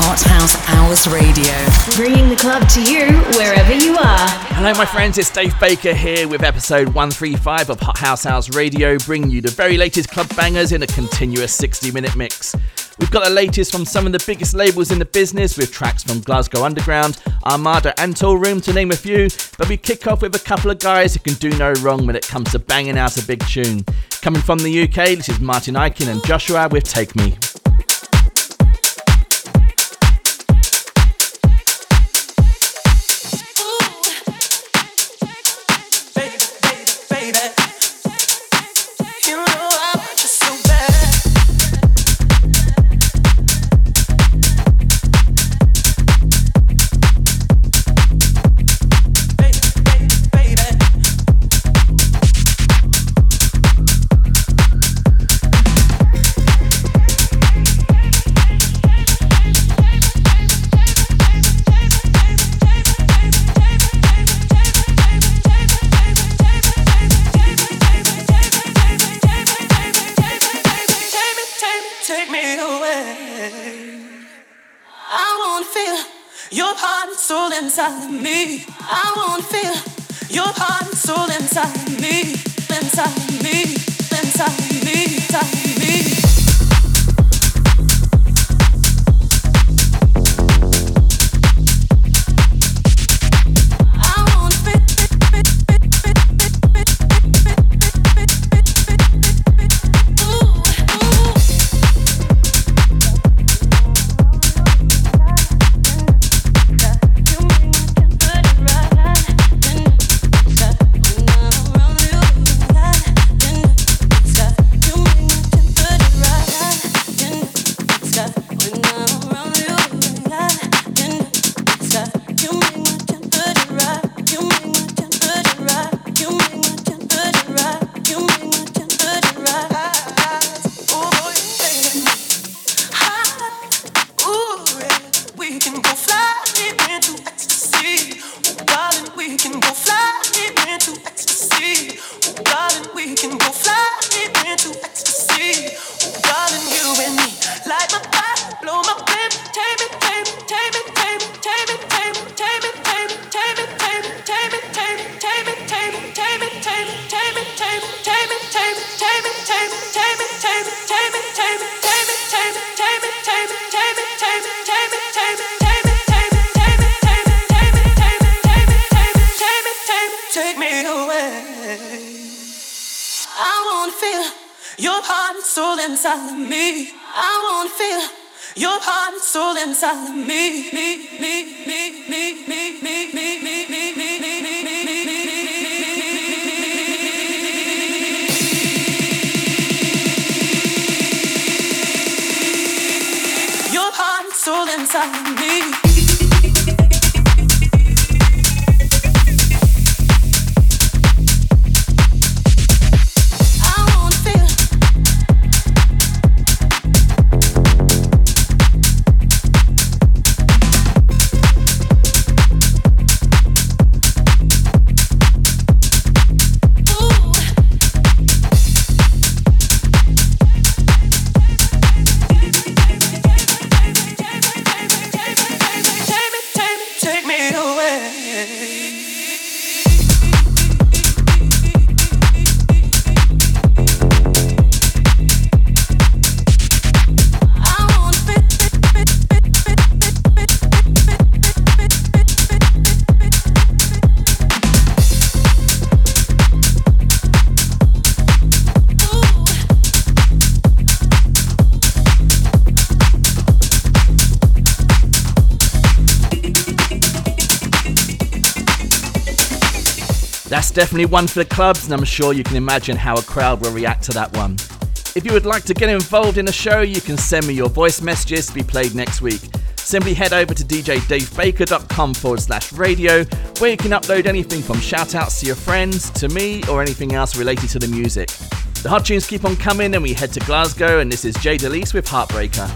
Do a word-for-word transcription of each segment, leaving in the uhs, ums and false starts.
Hot House Hours Radio, bringing the club to you wherever you are. Hello my friends, it's Dave Baker here with episode one thirty-five of Hot House Hours Radio, bringing you the very latest club bangers in a continuous sixty minute mix. We've got the latest from some of the biggest labels in the business, with tracks from Glasgow Underground, Armada and Toolroom to name a few, but we kick off with a couple of guys who can do no wrong when it comes to banging out a big tune. Coming from the U K, this is Martin Ikin and Joshua with Take Me. Inside of me, I wanna feel your heart and soul inside of me, inside of me, inside of me, inside of me. Inside of me, I wanna feel your heart and soul inside of me, me, me, me, me, me, me, me, me, me, me, me, me, me, me, your heart and soul inside of me. That's definitely one for the clubs, and I'm sure you can imagine how a crowd will react to that one. If you would like to get involved in the show, you can send me your voice messages to be played next week. Simply head over to djdavebaker.com forward slash radio, where you can upload anything from shout-outs to your friends, to me, or anything else related to the music. The hot tunes keep on coming, and we head to Glasgow, and this is Jay DeLise with Heartbreaker.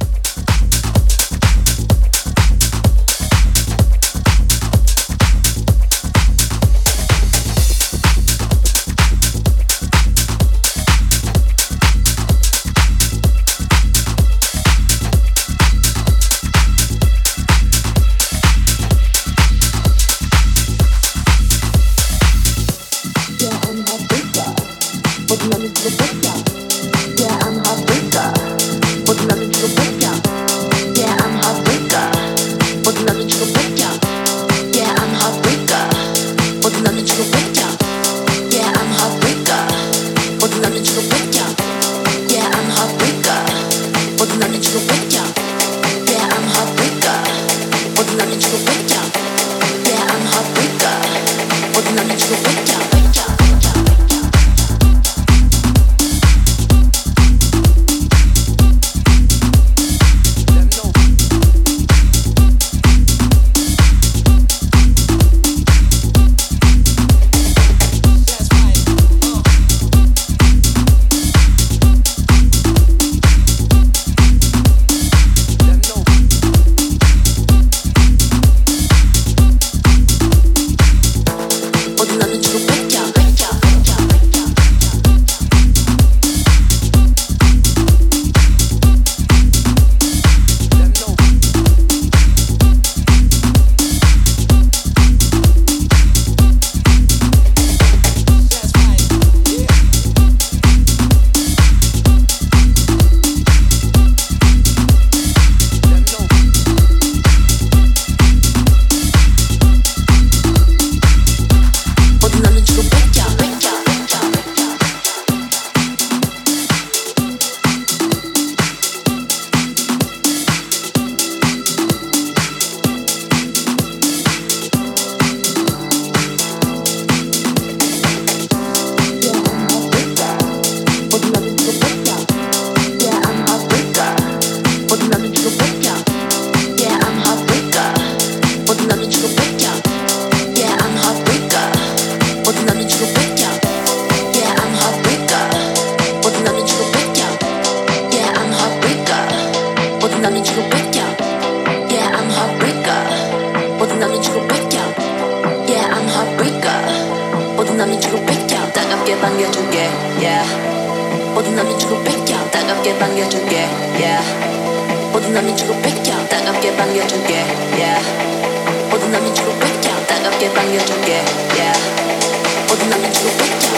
따갑게 반겨줄게 yeah. 모든 날 미치고 뺏겨 따갑게 반겨줄게 yeah. 모든 날 미치고 뺏겨 따갑게 반겨줄게 yeah. 모든 날 미치고 뺏겨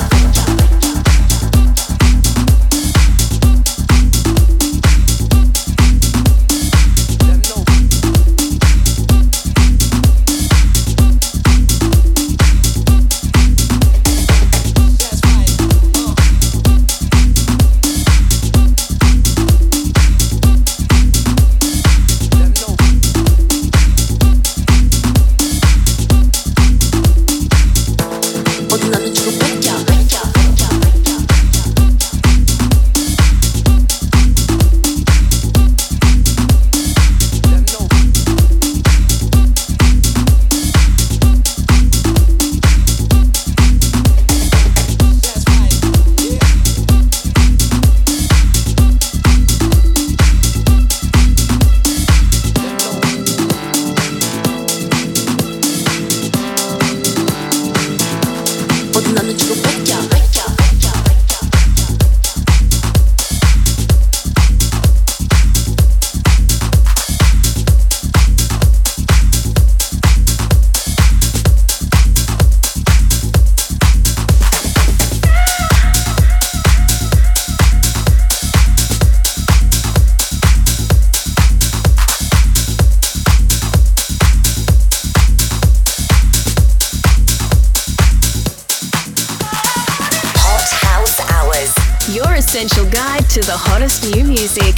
Essential guide to the hottest new music.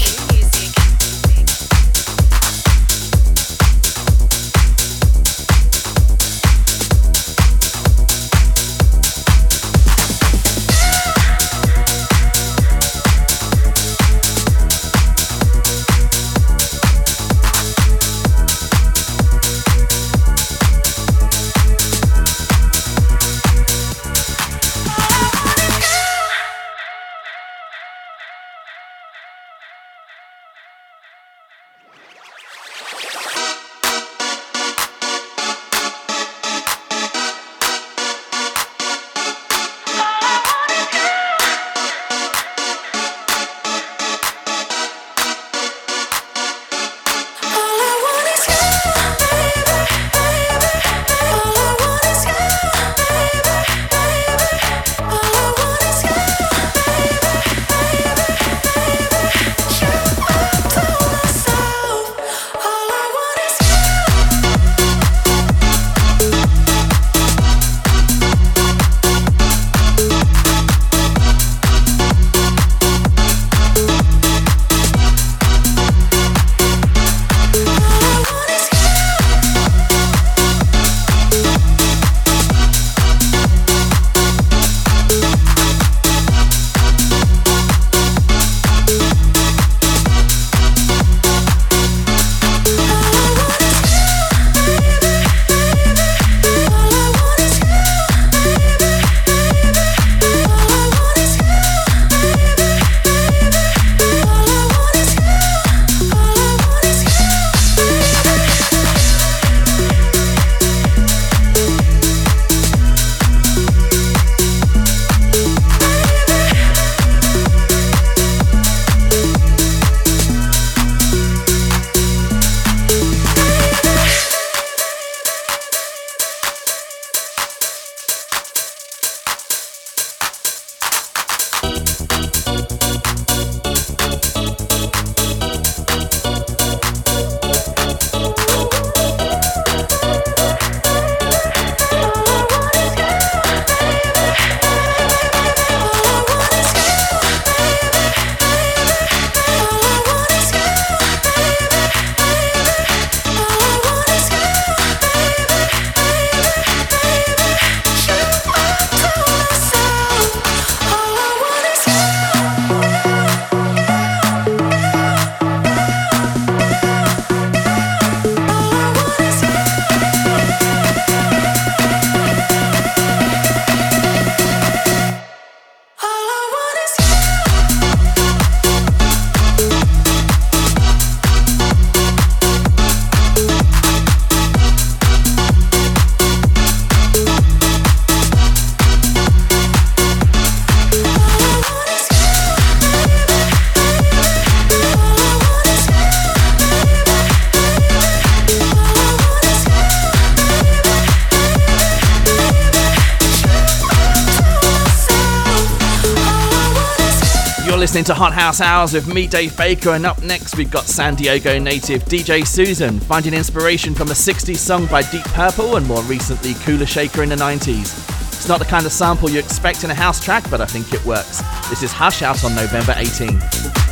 listening to Hot House Hours with me, Dave Baker, and up next we've got San Diego native D J Susan, finding inspiration from a sixties song by Deep Purple and more recently Kula Shaker in the nineties. It's not the kind of sample you expect in a house track, but I think it works. This is Hush out on November eighteenth.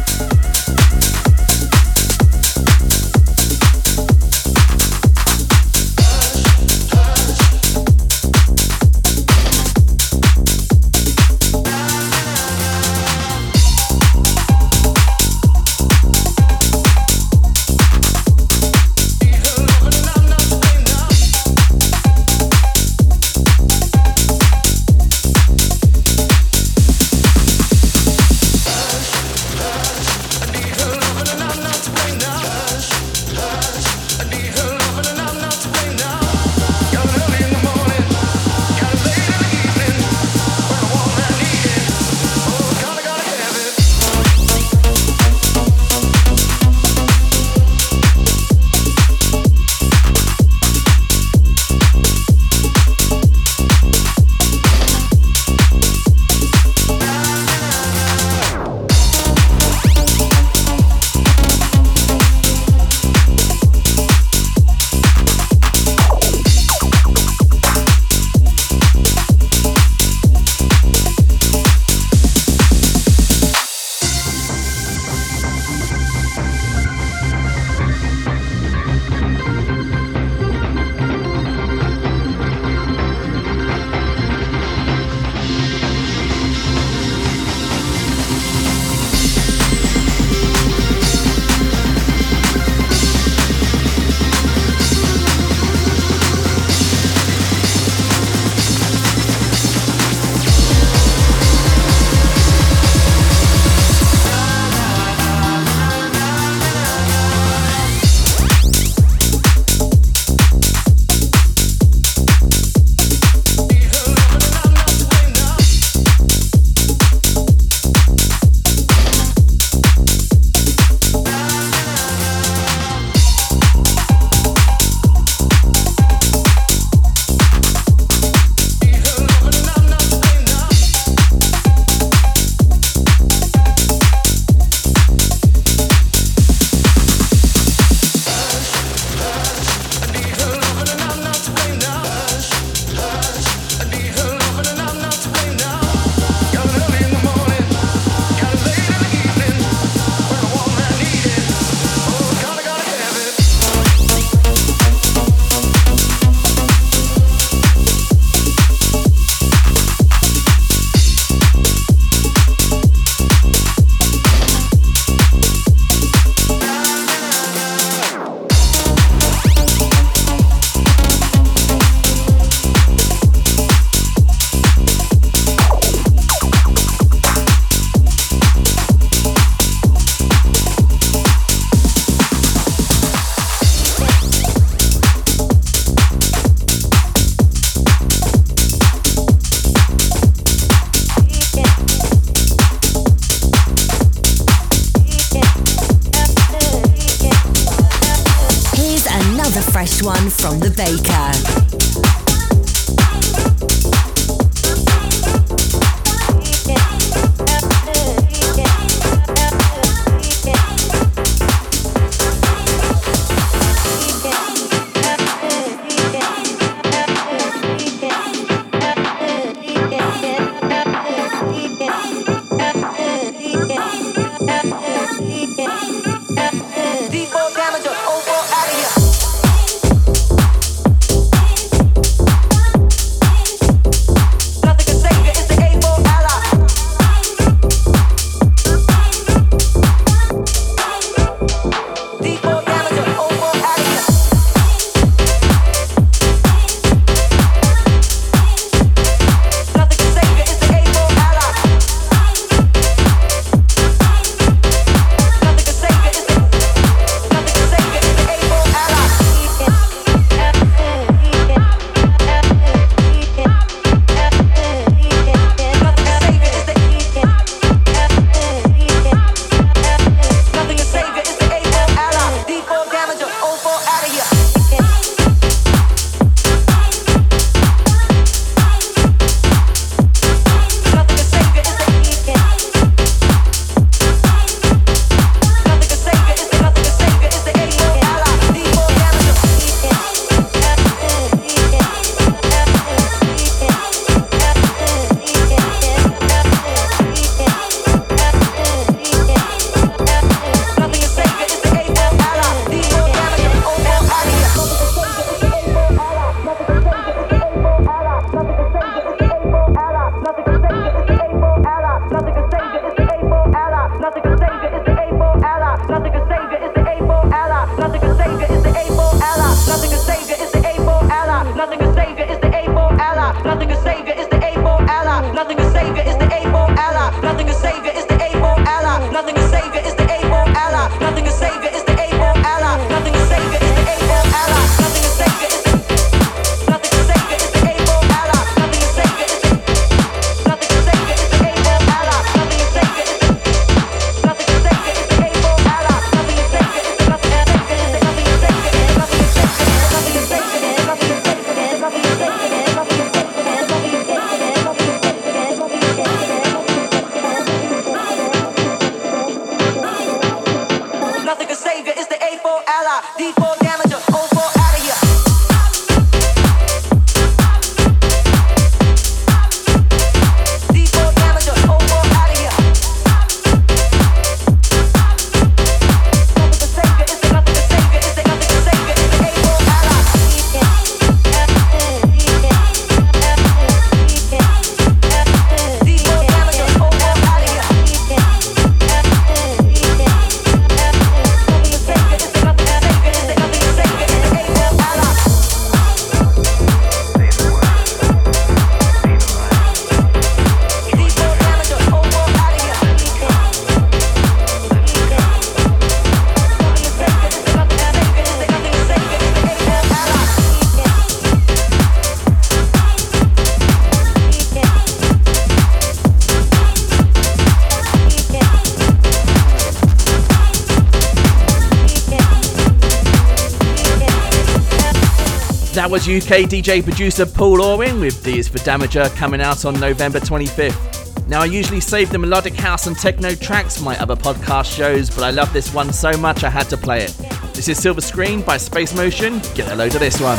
fresh one from The Baker. Deep damage, over, out of here. That was U K D J producer Paul Orwin with D is for Damager, coming out on November twenty-fifth. Now, I usually save the melodic house and techno tracks for my other podcast shows, but I love this one so much I had to play it. This is Silver Screen by Space Motion. Get a load of this one.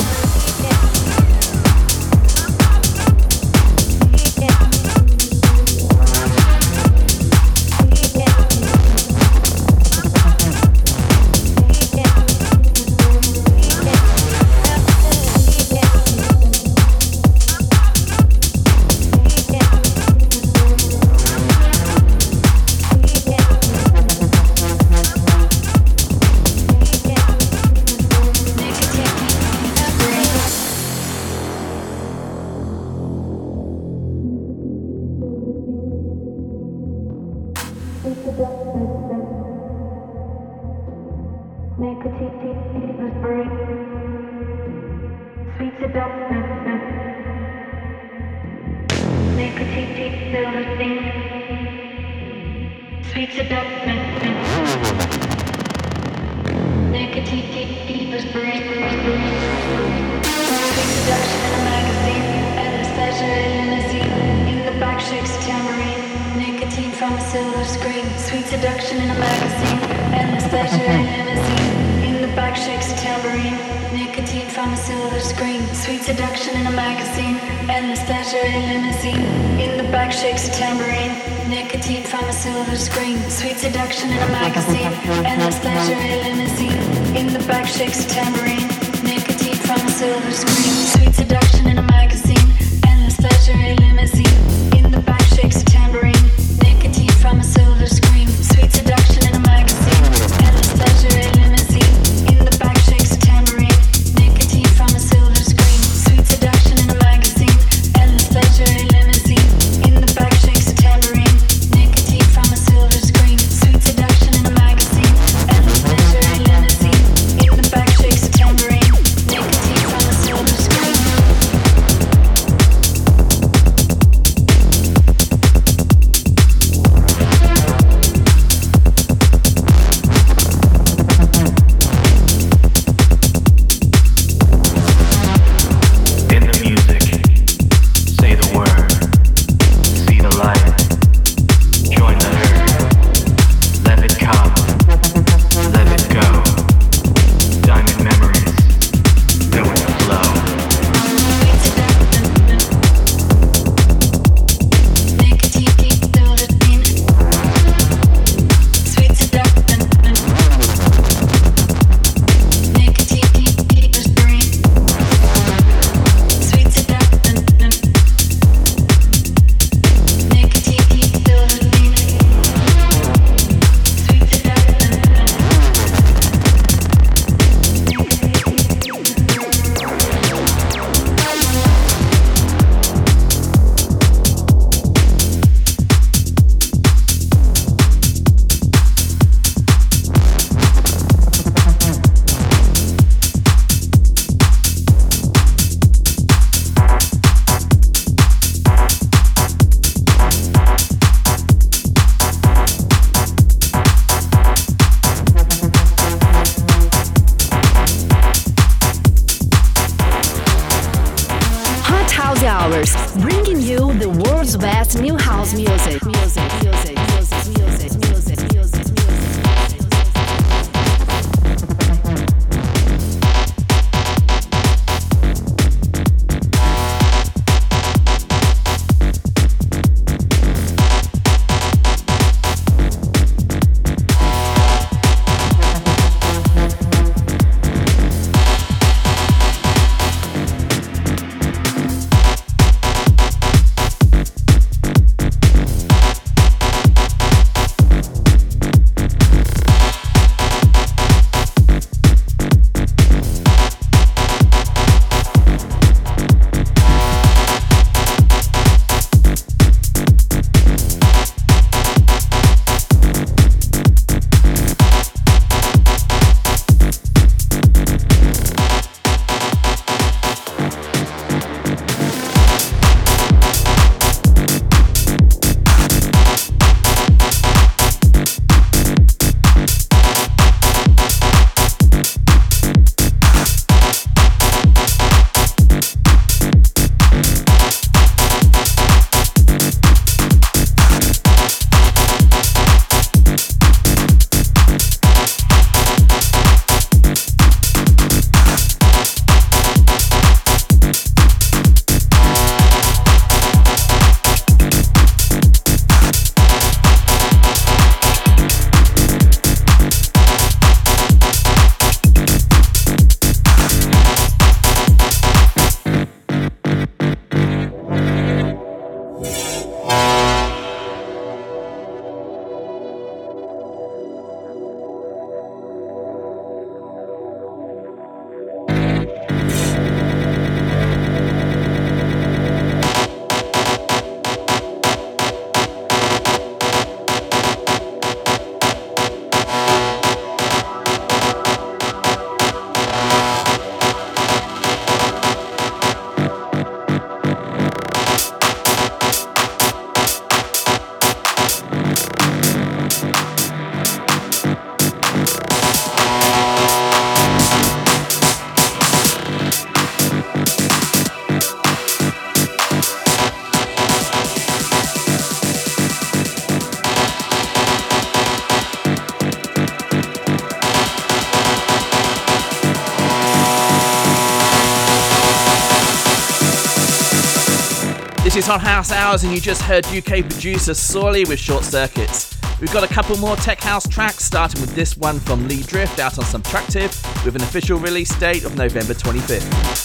This is Hot House Hours, and you just heard U K producer Sorley with Short Circuits. We've got a couple more tech house tracks, starting with this one from Lee Drift out on Subtractive with an official release date of November twenty-fifth.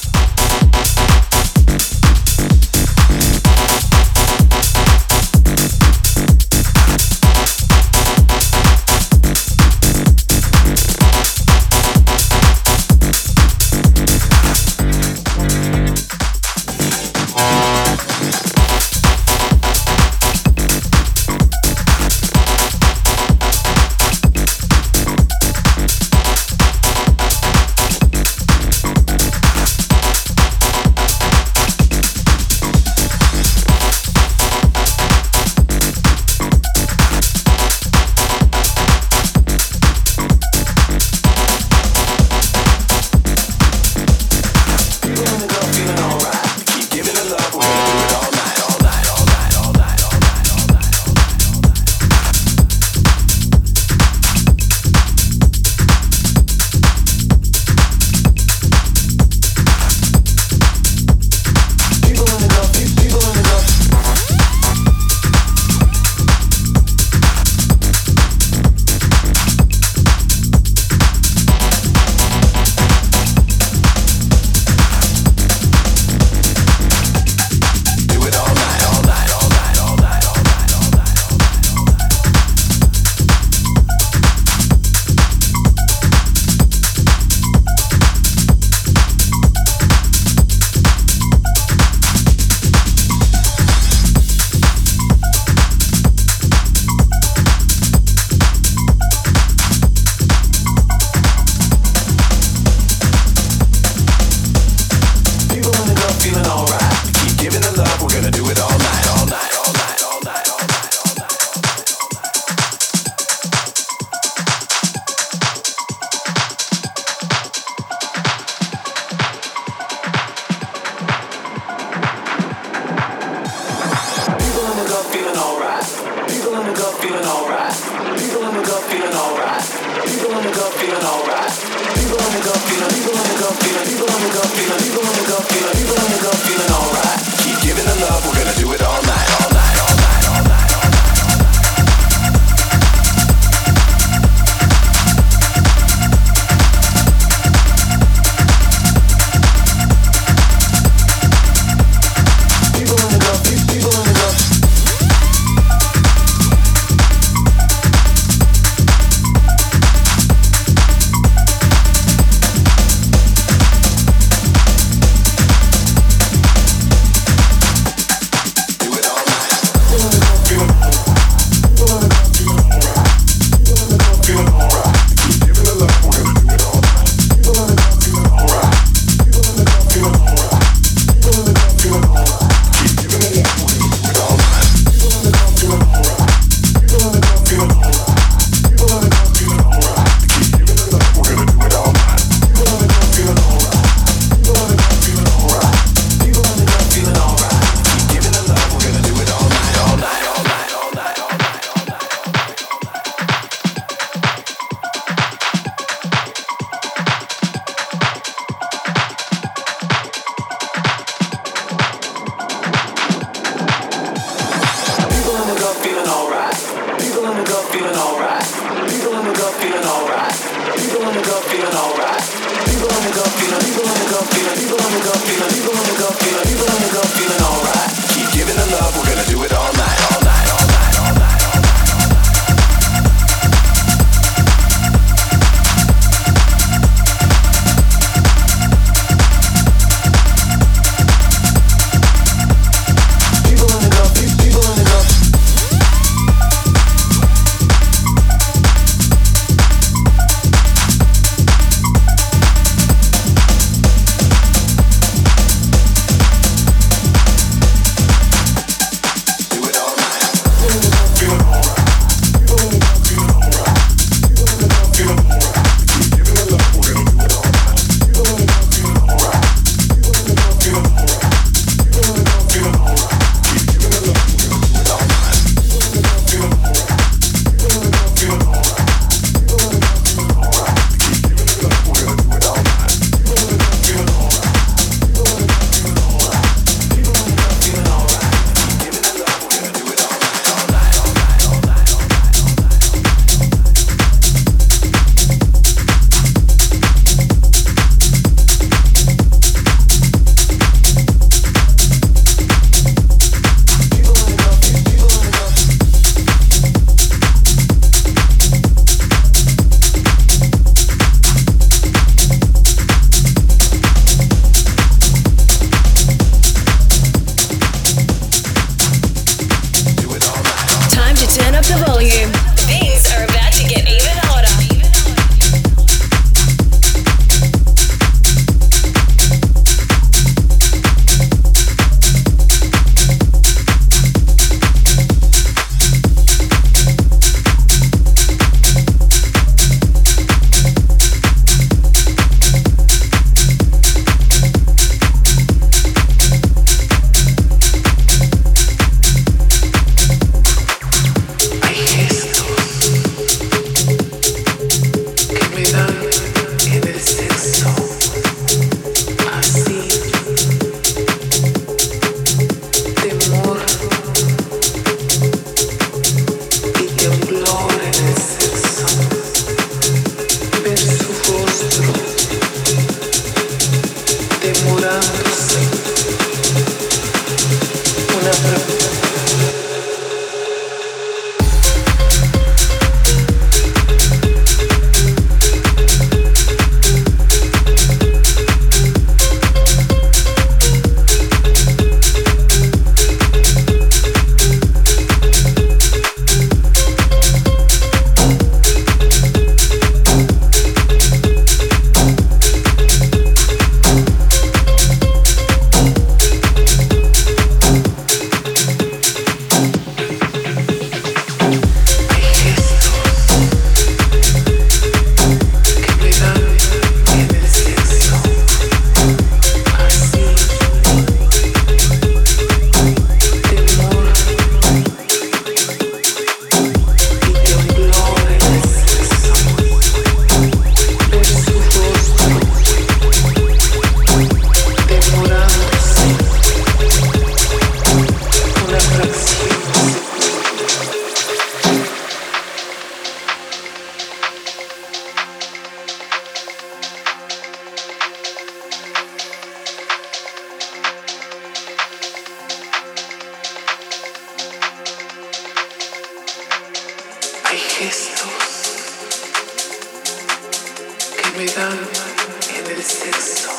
me dan en el sexo,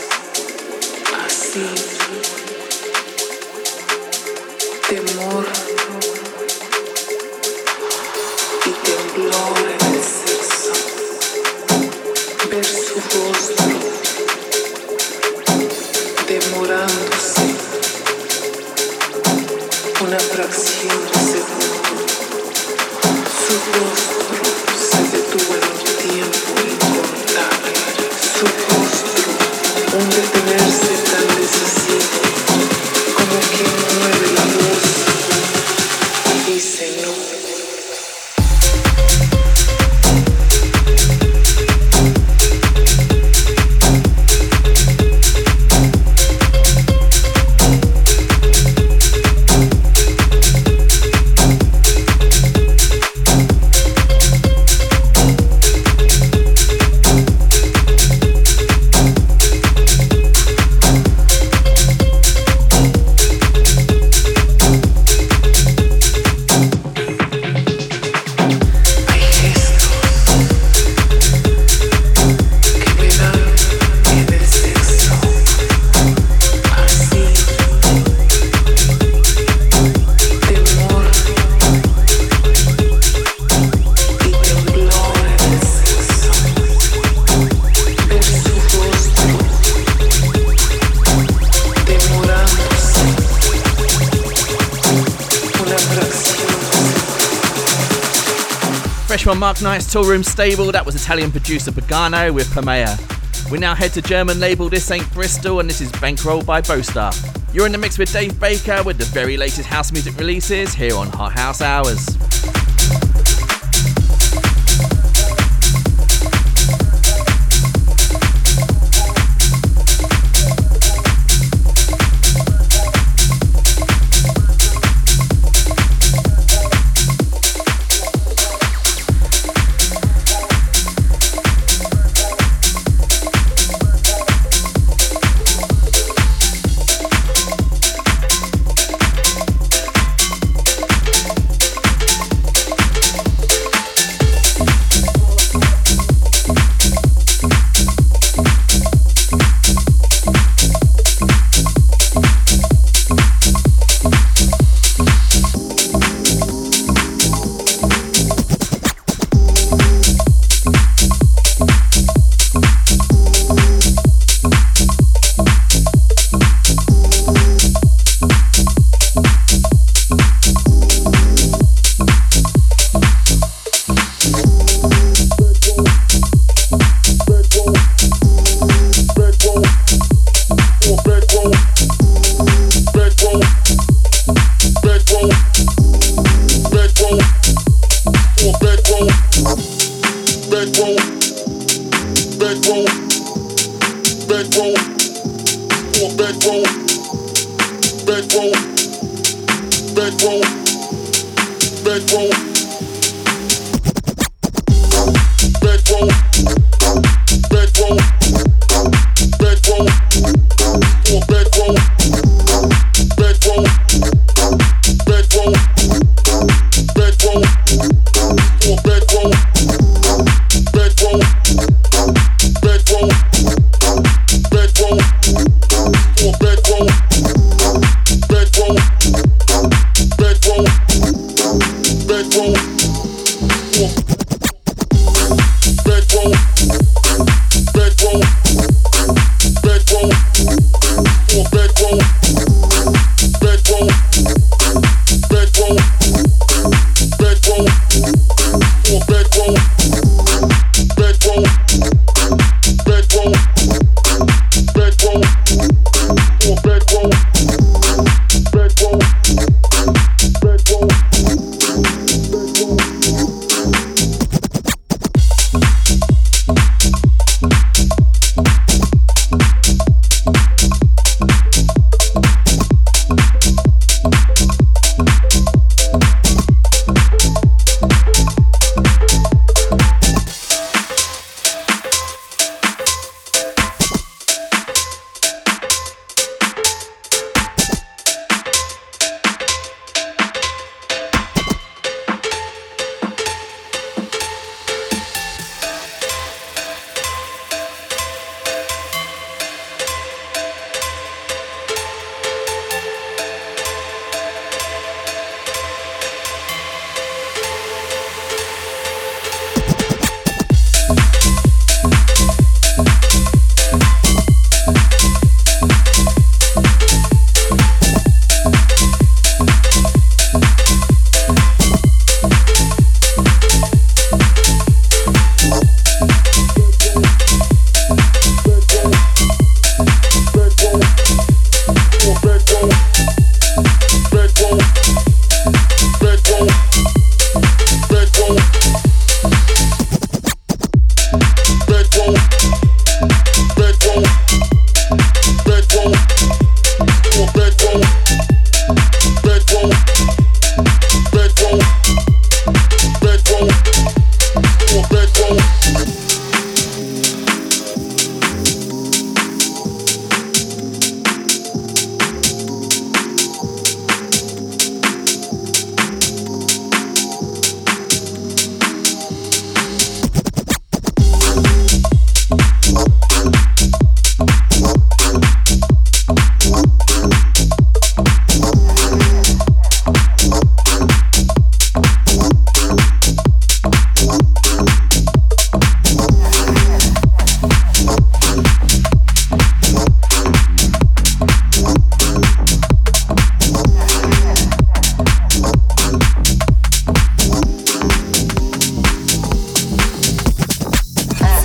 así, temor y temblor en el sexo, ver su rostro demorándose una fracción de segundo, su rostro se detuvo en un tiempo incontable, su rostro, un detenerse tan decisivo como quien mueve la voz y dice no. Fresh from Mark Knight's Toolroom stable, that was Italian producer Pagano with Pamea. We now head to German label This Ain't Bristol, and this is Bankroll by Bostar. You're in the mix with Dave Baker with the very latest house music releases here on Hot House Hours. Bedroom.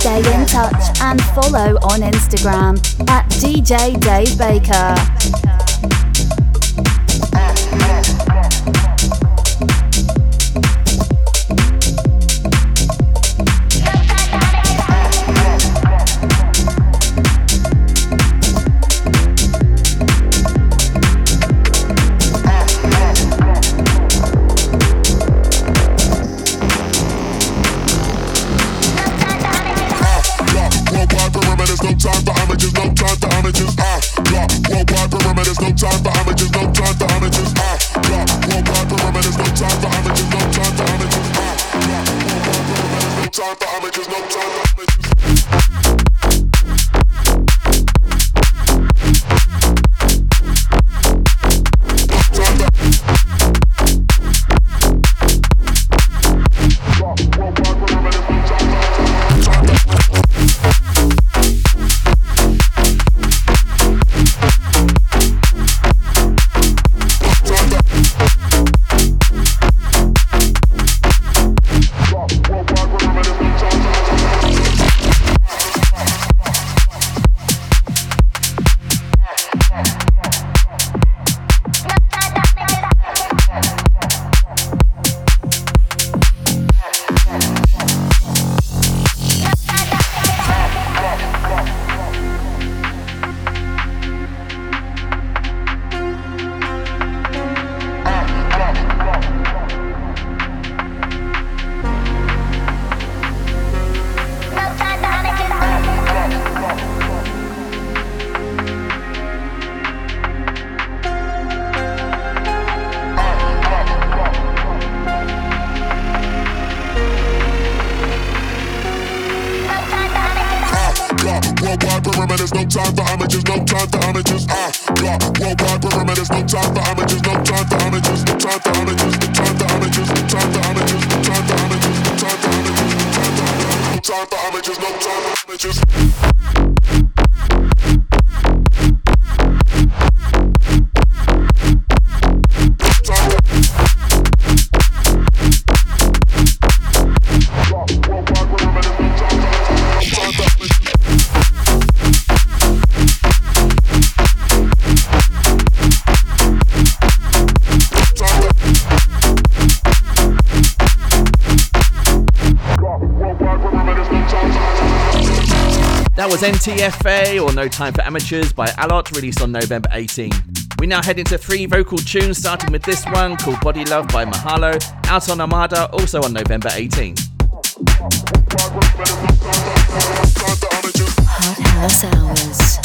Stay in touch and follow on Instagram at D J Dave Baker. N T F A, or No Time for Amateurs, by Alot, released on November eighteenth. We now head into three vocal tunes, starting with this one called Body Love by Mahalo, out on Armada, also on November eighteenth. Hot House Hours.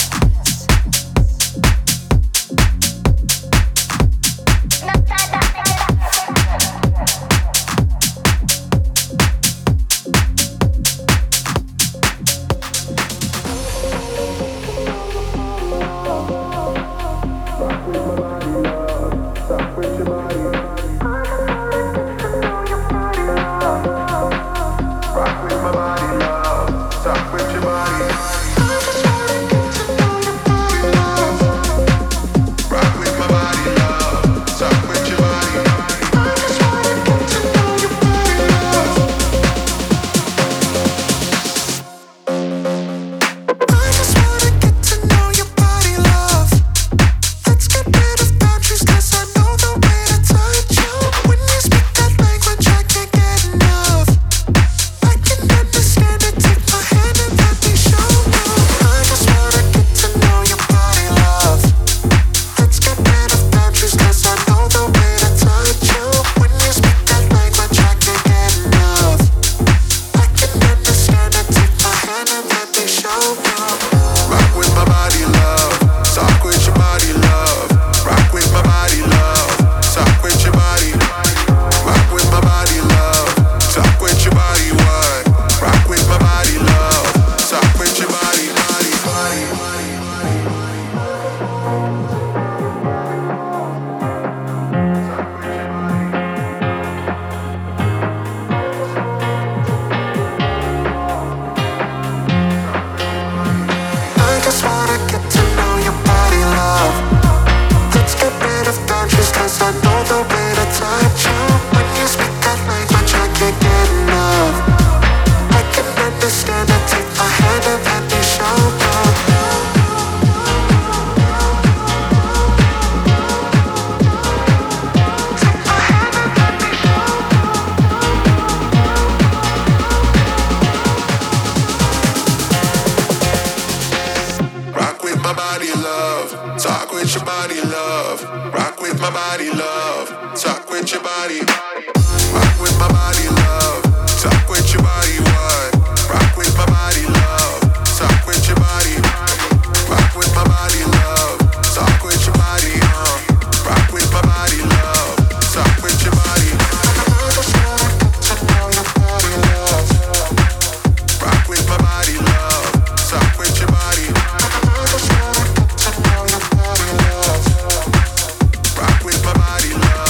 Rock body, love. Talk with your body. Rock with my body, love. Talk with your body, what? Rock with my body, love. Talk with your body. Rock with my body, love. Talk with your body, uh. Rock with my body, love. Talk with your body. Rock with my body, love. Talk with your body. Rock with my body, love.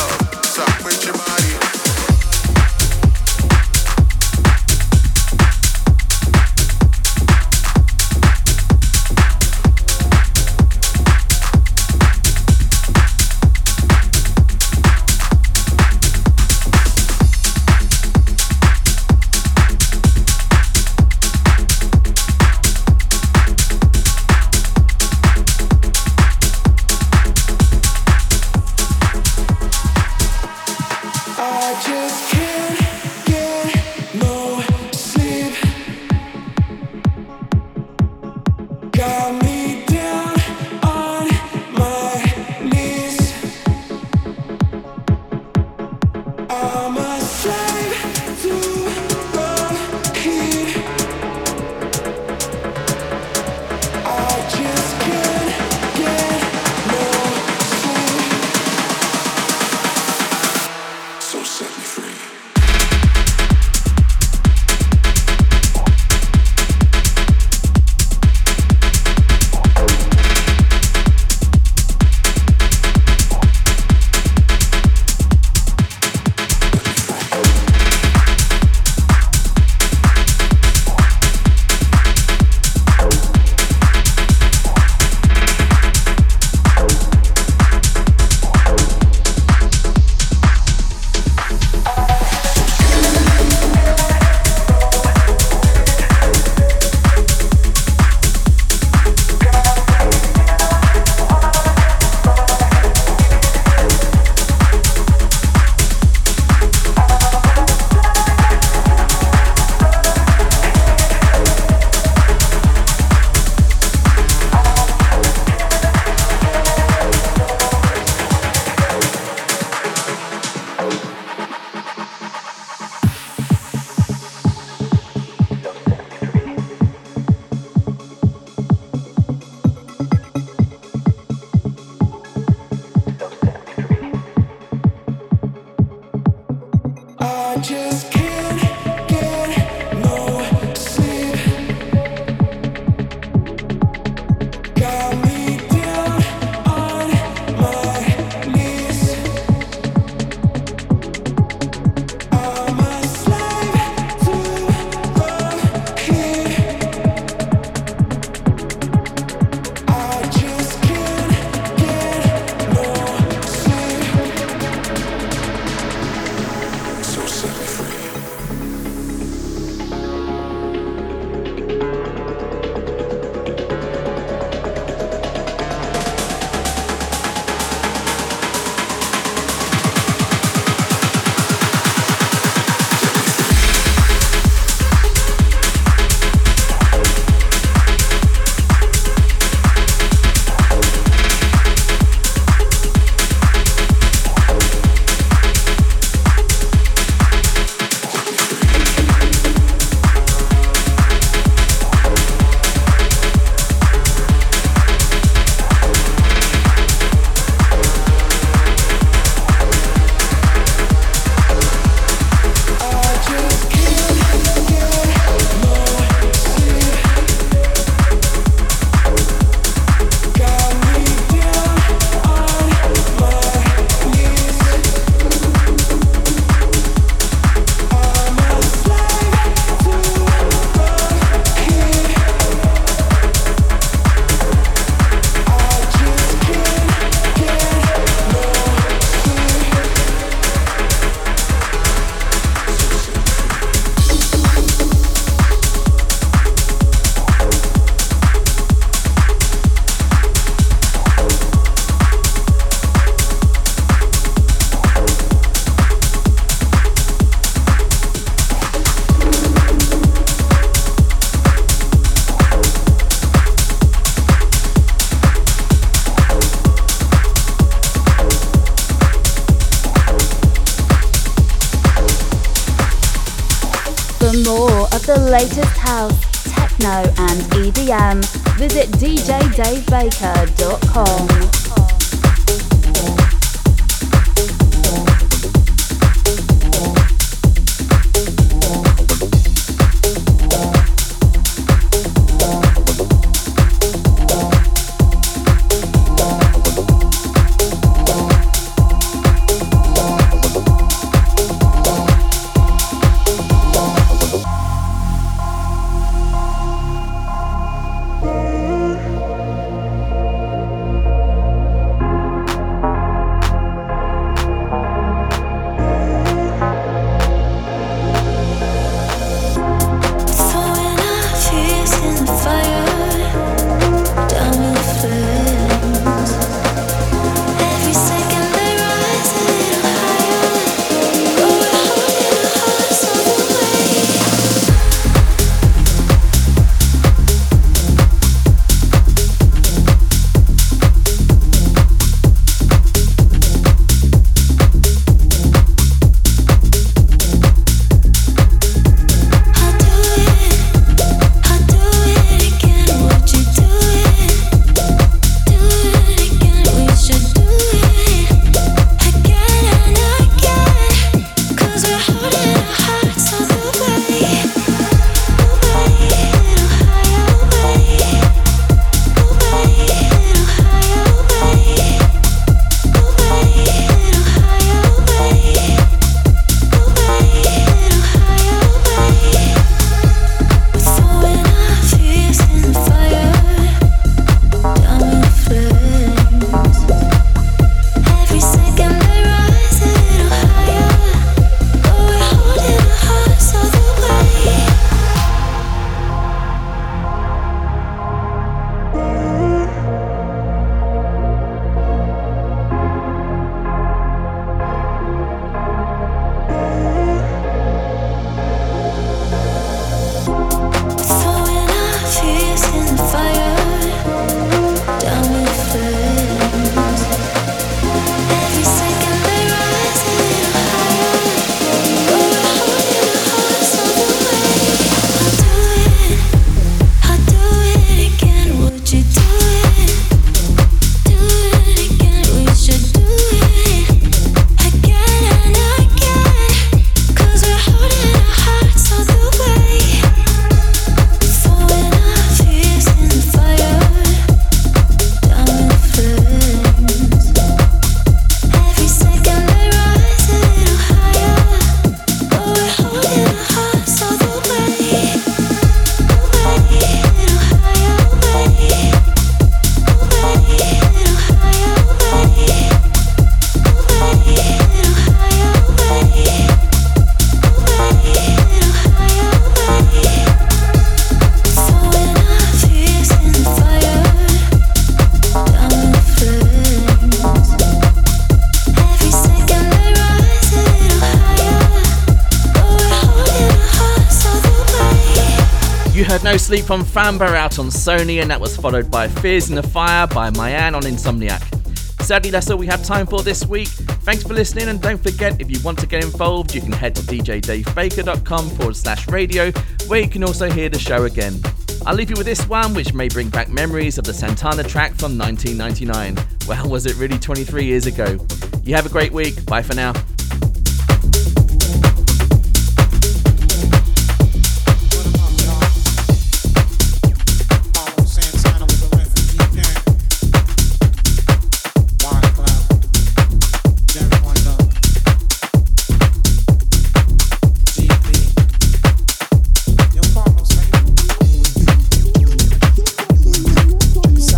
house, techno and E D M. Visit d j dave baker dot com. No Sleep from Famba out on Sony, and that was followed by Fears in the Fire by Mayan on Insomniac. Sadly, that's all we have time for this week. Thanks for listening, and don't forget, if you want to get involved, you can head to d j dave baker dot com forward slash radio, where you can also hear the show again. I'll leave you with this one, which may bring back memories of the Santana track from nineteen ninety-nine. Well, was it really twenty-three years ago? You have a great week. Bye for now.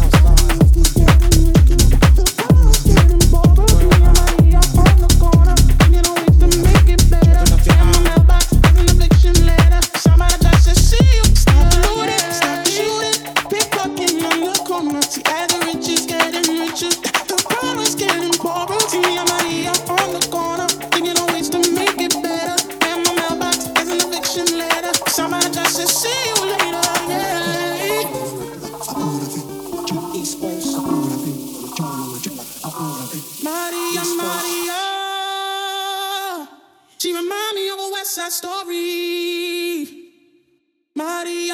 Corner.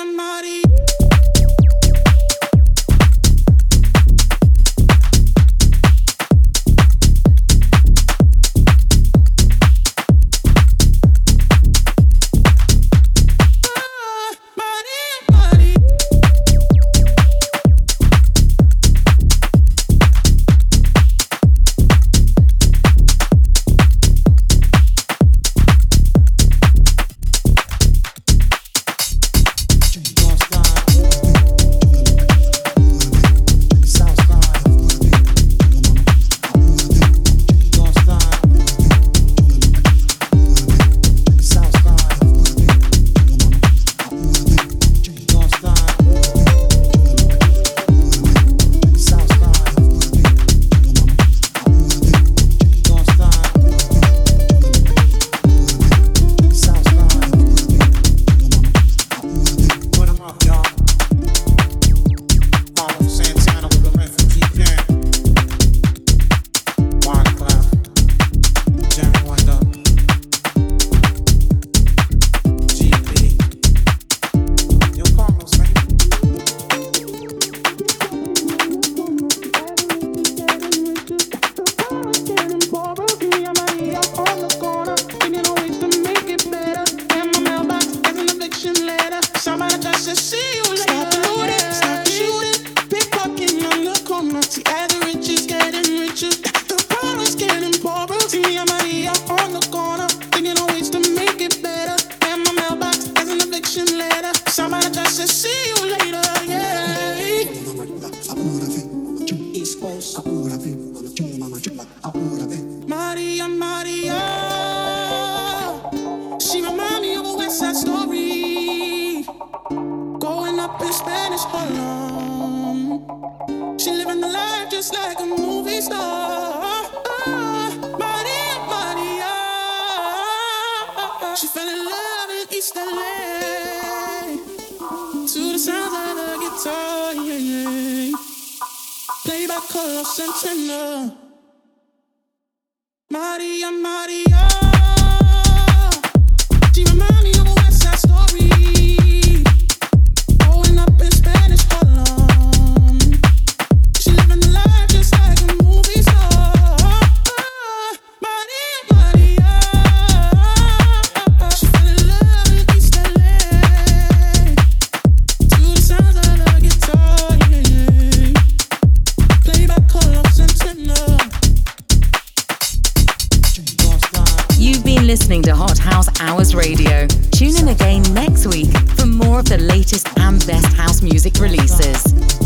Maria, Maria, she remind me of a West Side Story. Growing up in Spanish Harlem, she living the life just like a movie star. Maria, Maria, she fell in love in East L A to the sounds of the guitar, yeah, yeah. Played by Carlos Santana. You've been listening to Hot House Hours Radio. Tune in again next week for more of the latest and best house music releases.